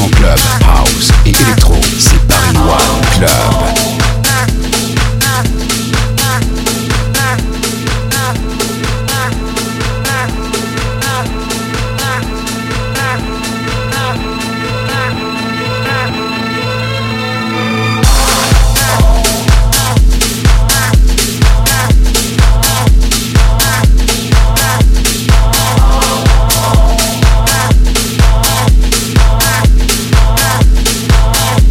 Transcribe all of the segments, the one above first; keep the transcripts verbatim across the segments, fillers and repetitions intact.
cent club, house et électro, c'est Paris One Club. Bye.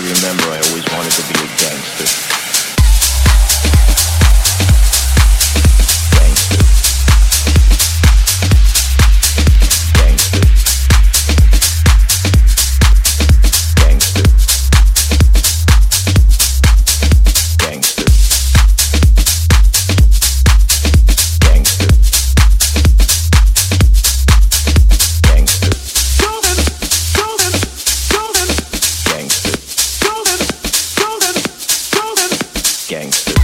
can remember, I always wanted to be a gangster. Gangster. Gangster. Gangster. Gangster. Gangster. Gangster. Gangster.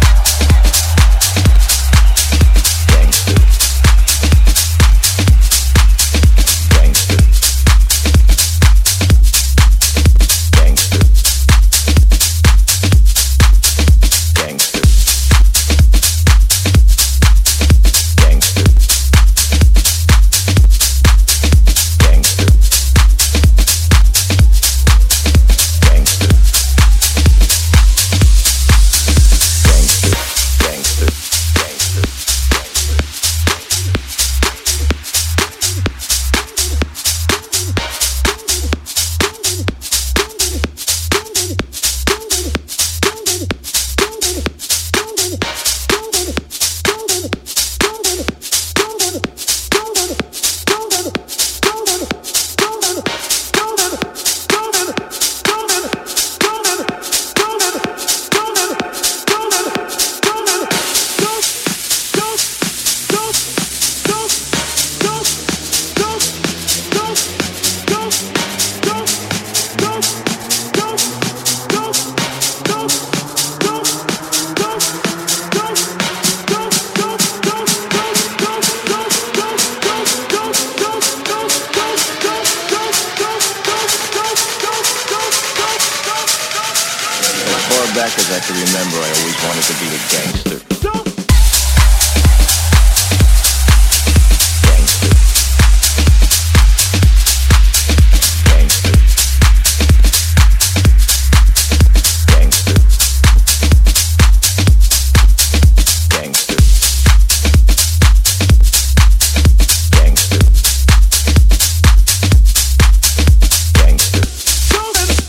Back as I can remember, I always wanted to be a gangster.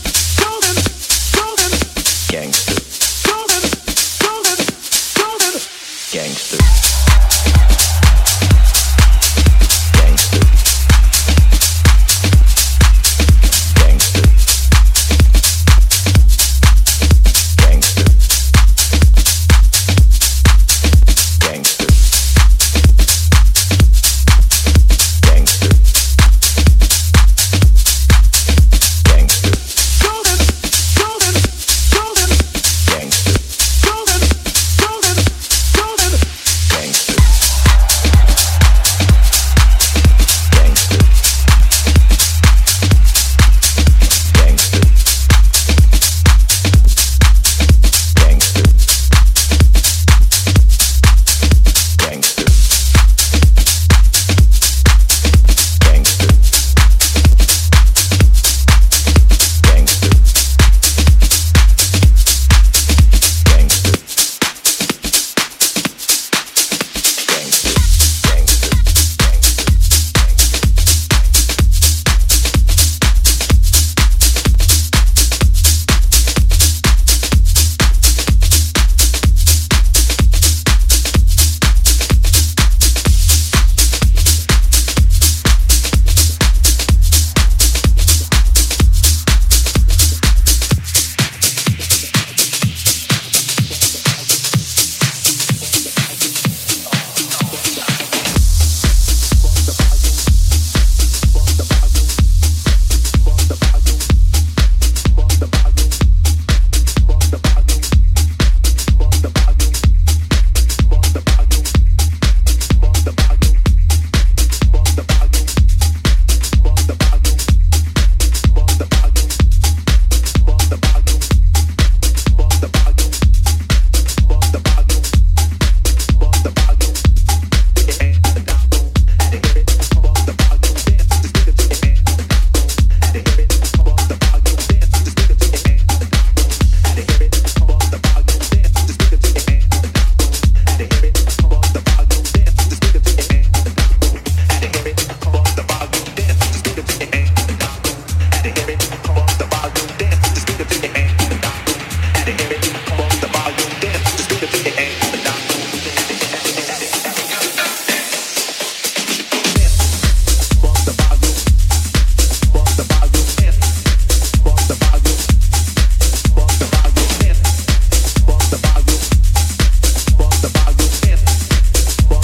Gangster.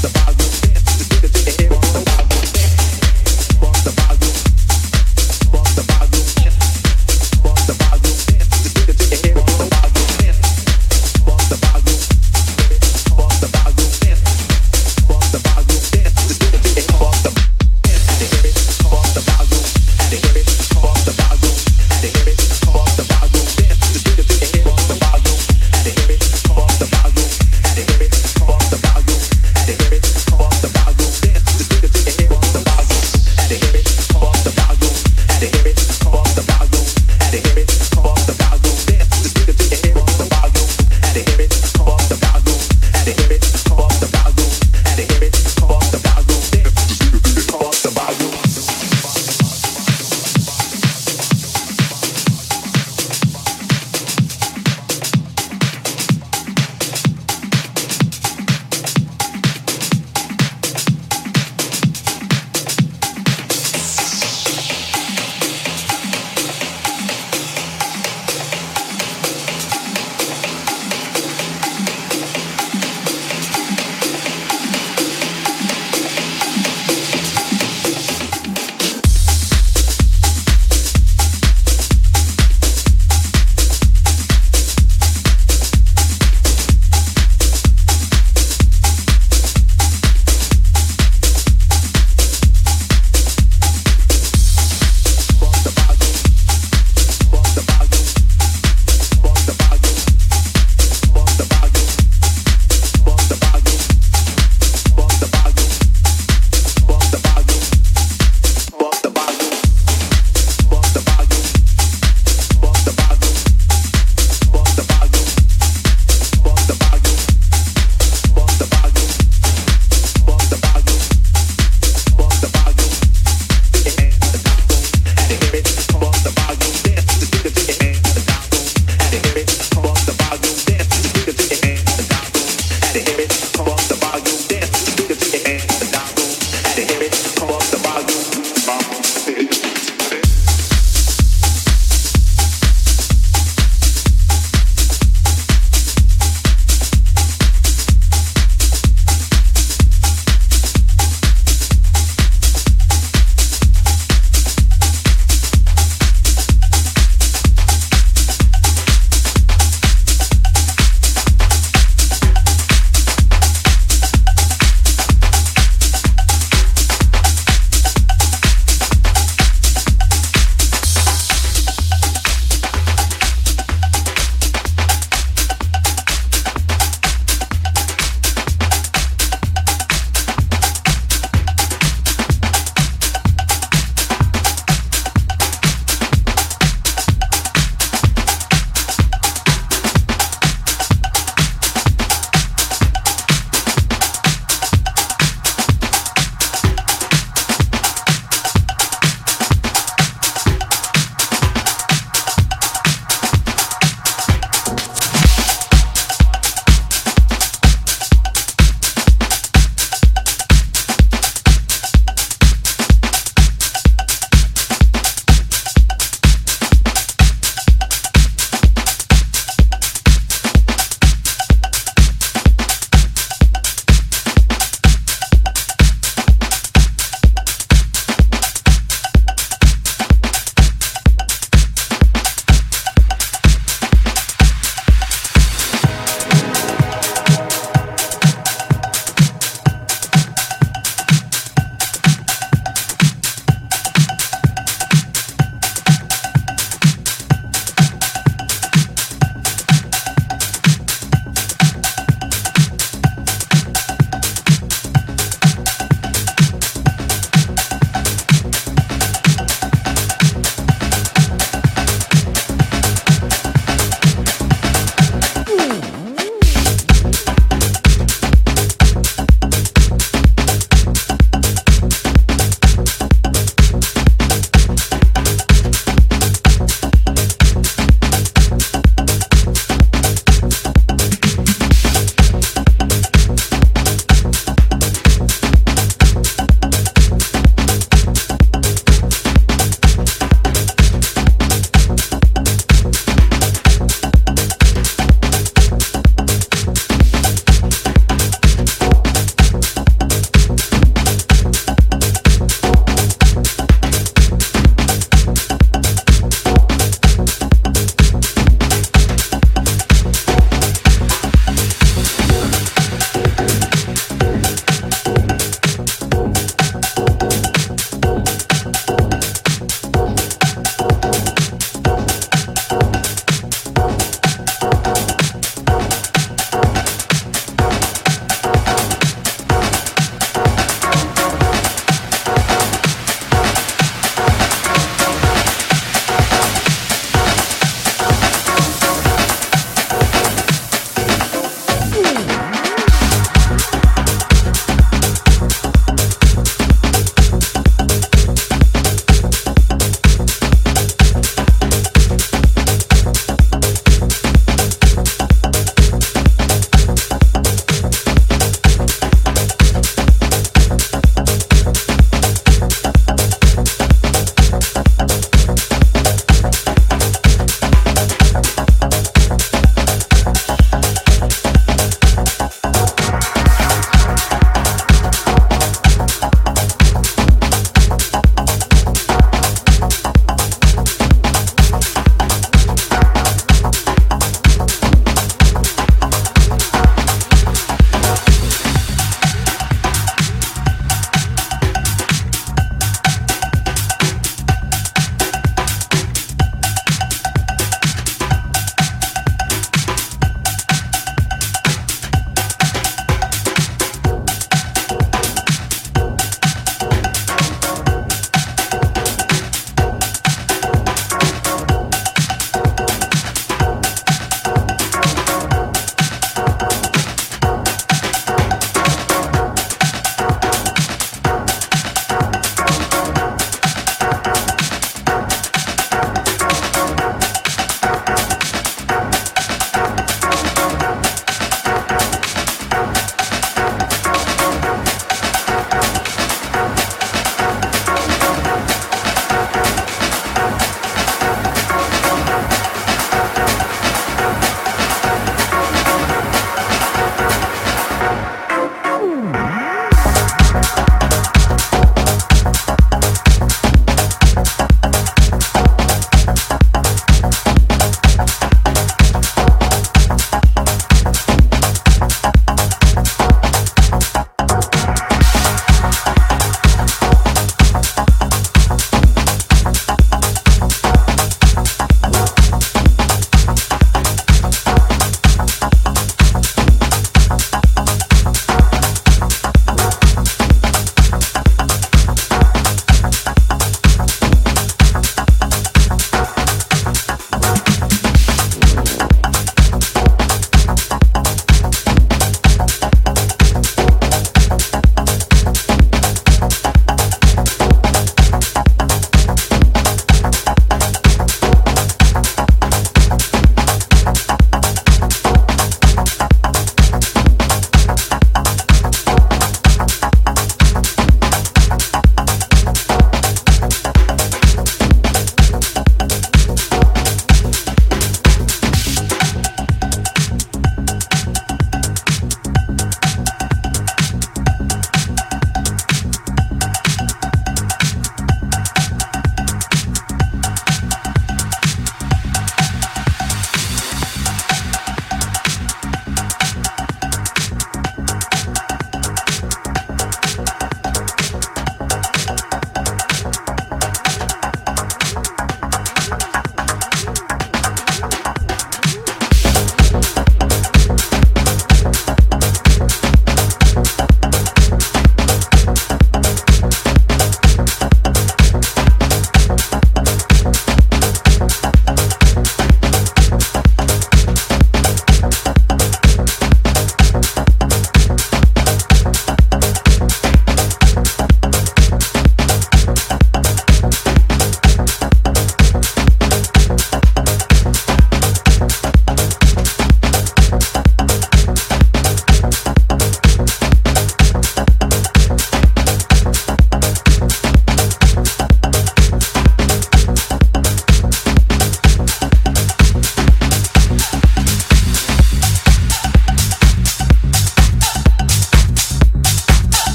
Had to hear it,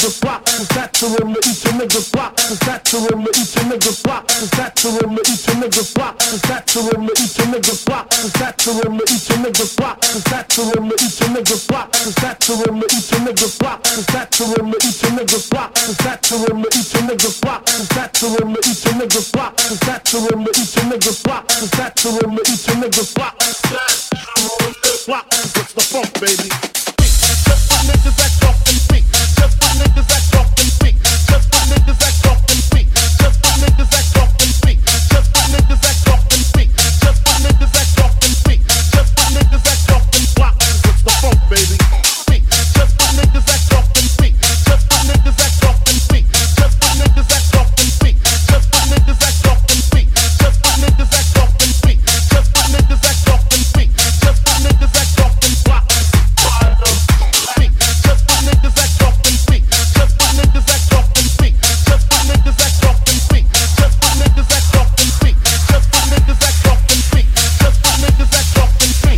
niggas block, the saturin to eat your niggas block, the saturin to eat your niggas block, the saturin to eat your niggas block, the saturin to eat your niggas block, the saturin to eat your niggas block, the saturin to eat your niggas block, the saturin to eat your niggas block, the saturin to eat your niggas block, the saturin to eat your niggas block, the saturin to eat your niggas block, the saturin to eat your niggas block, the saturin to eat your niggas block, block, it's the funk, baby. Just for niggas that talk and speak. Just for niggas that talk and speak. Just for niggas that talk and speak. Just for niggas that talk and speak. Just for niggas that talk and speak. Just for niggas that talk and speak. Just for niggas that talk and block. It's the funk, baby. Speak. Just for niggas that talk and speak. Just for niggas that talk and speak. Just for niggas that talk and speak. Just for niggas that talk and speak. Just for niggas that talk and speak. Just for niggas that talk and speak. Just for niggas that talk and block. Speak. Just for niggas that talk and speak. Just for niggas that talk and speak. Just for niggas that talk and speak. Just for niggas that talk and speak. Just for niggas that talk and speak. Just for niggas that talk and speak.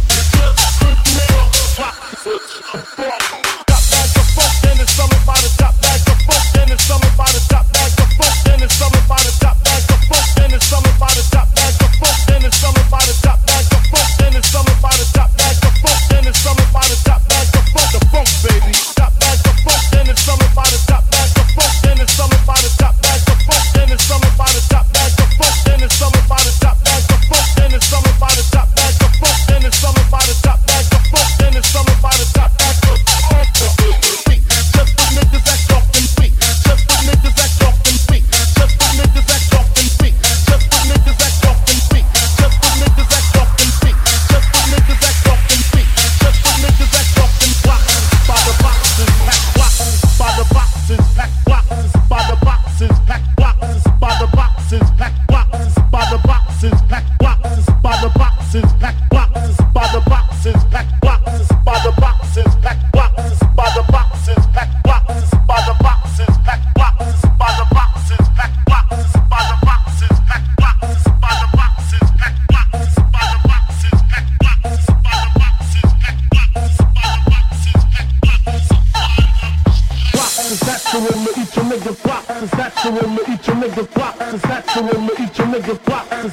Top bag of funk, then it's something about a top bag of funk, then it's something about a top bag of funk, then it's something about a top bag of funk, then it's something about a top bag of funk, then it's something about a top bag of funk, then it's something about a top bag of funk, then it's something about a top bag of funk, the funk, baby. Top bag of funk, then it's something about a top bag of funk, then it's something about a top bag of funk, then it's something about a top bag of funk, then it's something about a top bag of funk, then it's something about a top bag of funk, then it's something about a top bag of funk, then it's something about a top bag of funk. Just for niggas that talk and speak. Just for niggas that talk and speak. Just for niggas that talk and speak. Just for niggas that talk and speak. Just for niggas that talk and speak. Just for niggas that talk and speak. Just for niggas that talk and block. By the boxes, pack blocks. By the boxes, pack blocks. By the boxes, pack blocks. By the boxes, pack blocks. By the boxes, pack blocks. By the boxes, pack blocks. By the boxes, pack blocks. By the boxes, pack blocks. By the boxes, pack blocks. By the boxes, pack blocks. By the boxes, pack blocks. By the boxes, pack blocks. By the boxes, pack blocks. By the boxes, pack blocks. By the boxes, pack blocks. By the boxes, pack blocks. Blocks is natural to eat your niggas blocks. Is natural to eat your niggas blocks. Is natural to eat your niggas blocks. Is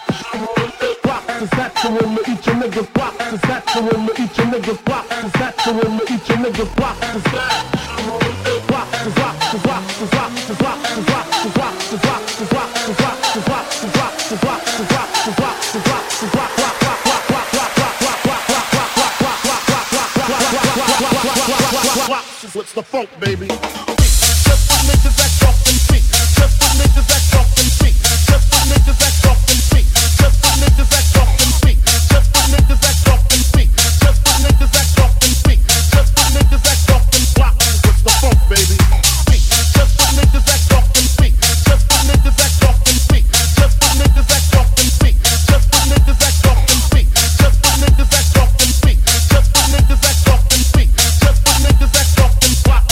natural to eat your niggas blocks. Is natural to eat your niggas blocks. Is natural to eat your niggas blocks. Is block is rock is rock is rock is rock is rock is rock is rock is rock is rock is rock is rock is rock is rock is rock is rock is rock rock rock rock rock rock rock rock rock rock rock rock rock rock rock. What's the funk, baby? Just for niggas that talk and speak. Just for niggas that talk and speak. Just for niggas that talk and speak. Just for niggas that talk and speak. Just for niggas that talk and speak. Just for niggas that talk and speak. Just for niggas that talk and block. What's the funk, baby? Just for niggas that talk and speak. Just for niggas that talk and speak. Just for niggas that talk and speak. Just for niggas that talk and speak. Just for niggas that talk and speak. Just for niggas that talk and speak. Just for niggas that talk and block.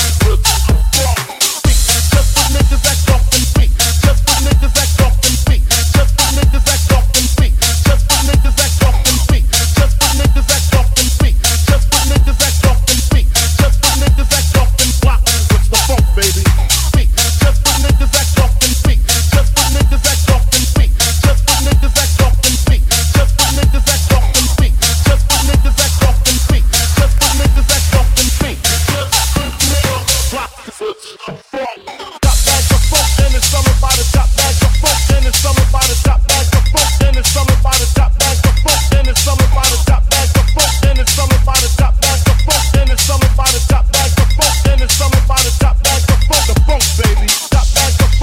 Top bag of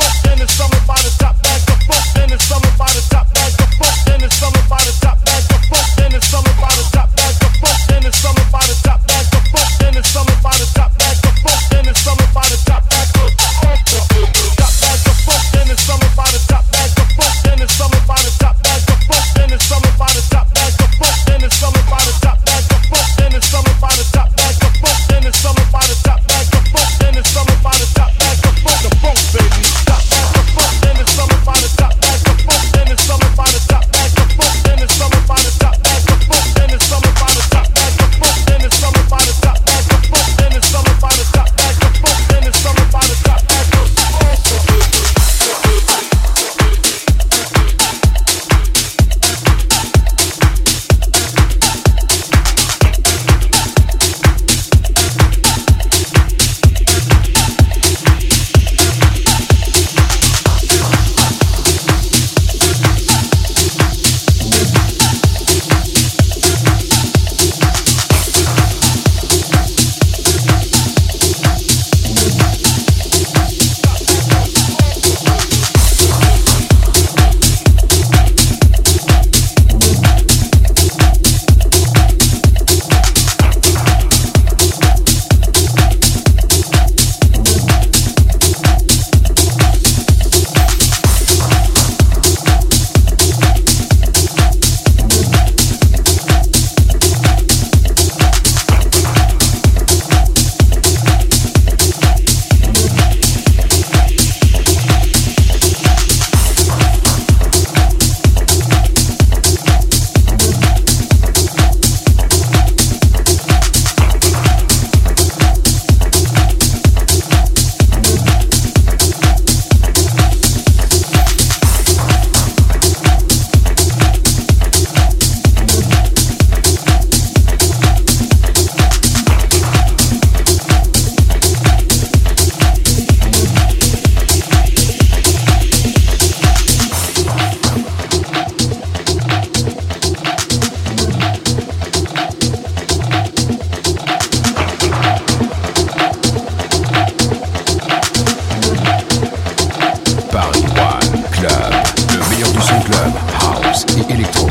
et électro.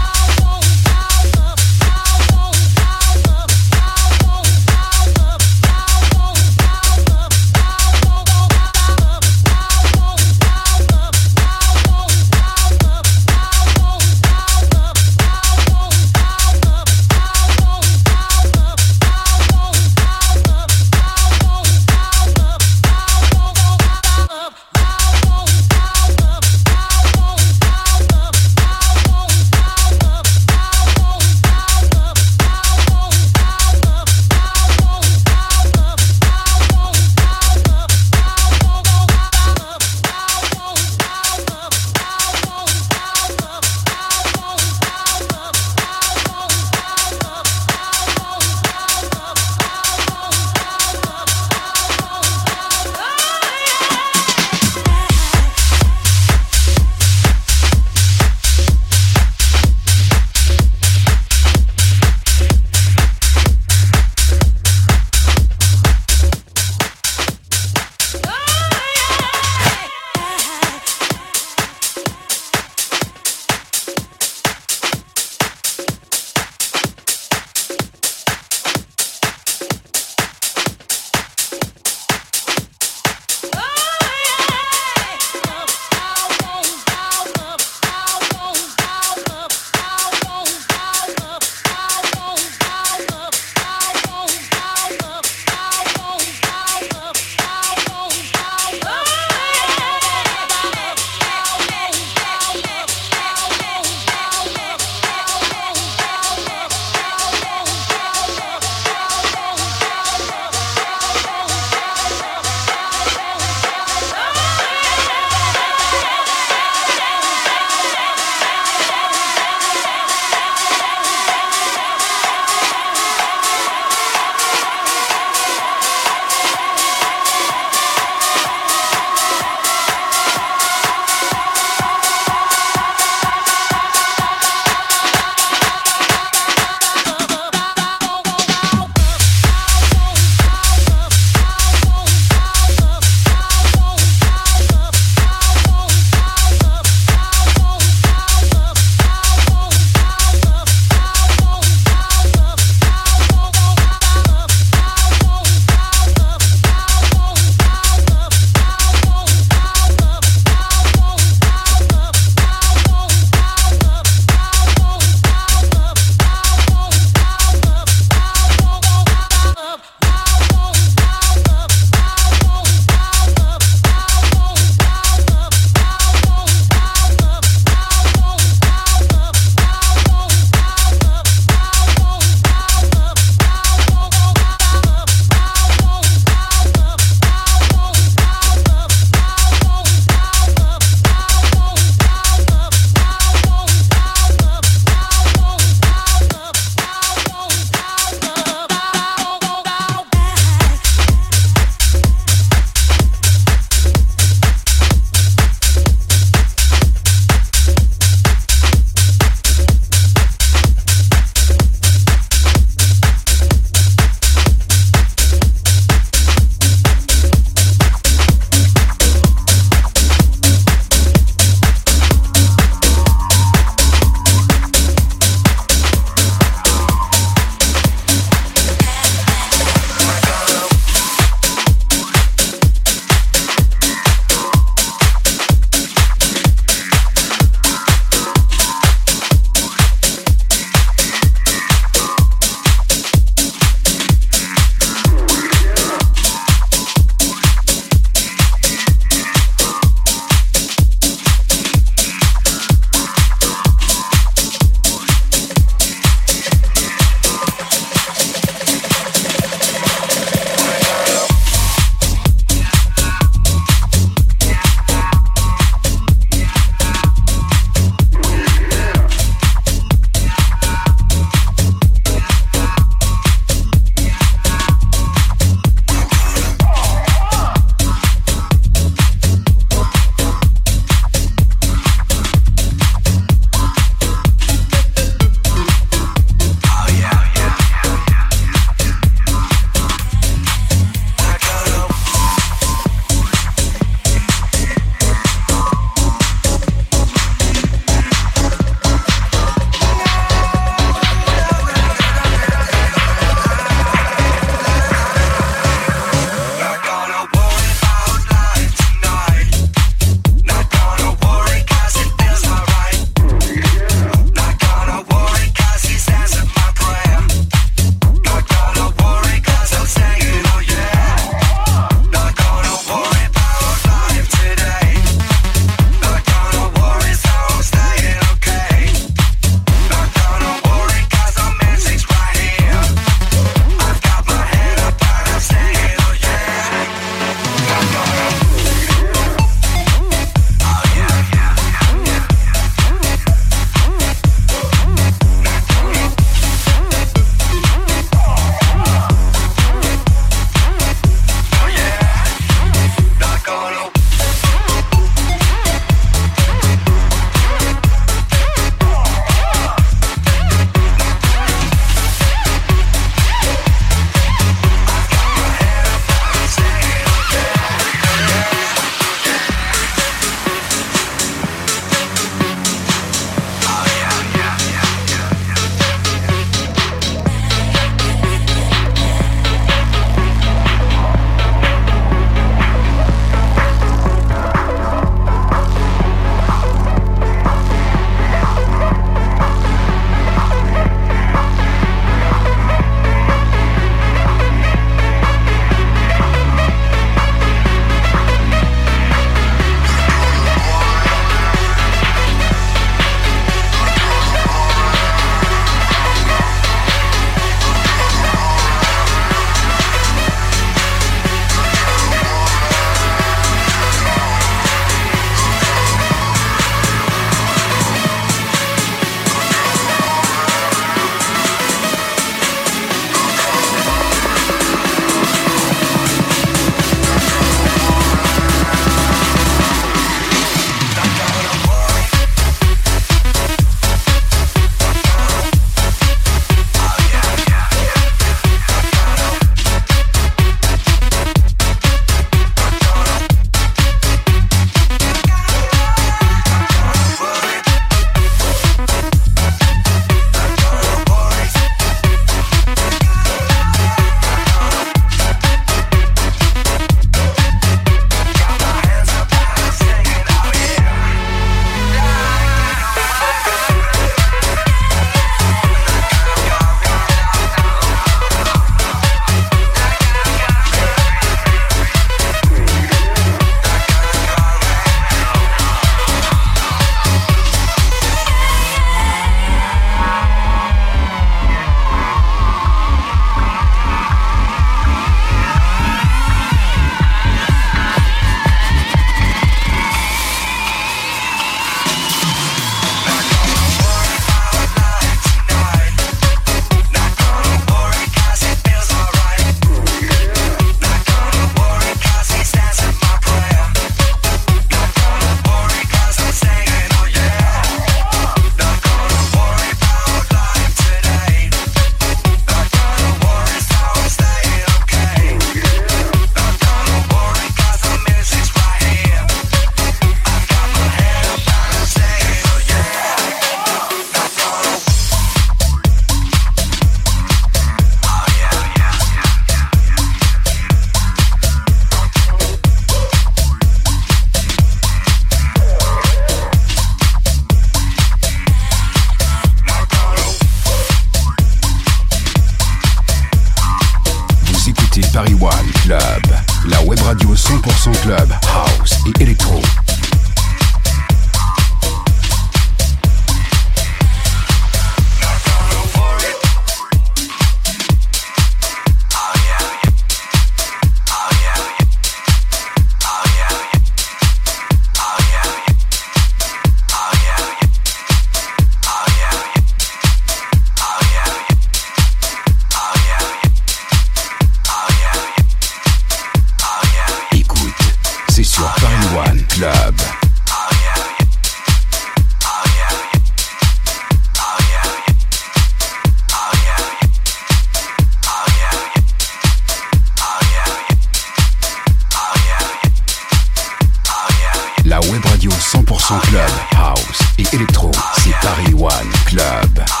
web radio cent pour cent club, house et électro, c'est Paris One Club.